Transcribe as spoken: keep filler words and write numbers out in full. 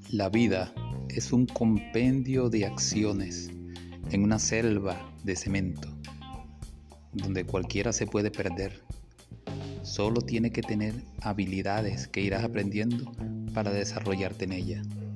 La vida es un compendio de acciones en una selva de cemento, donde cualquiera se puede perder. Solo tiene que tener habilidades que irás aprendiendo para desarrollarte en ella.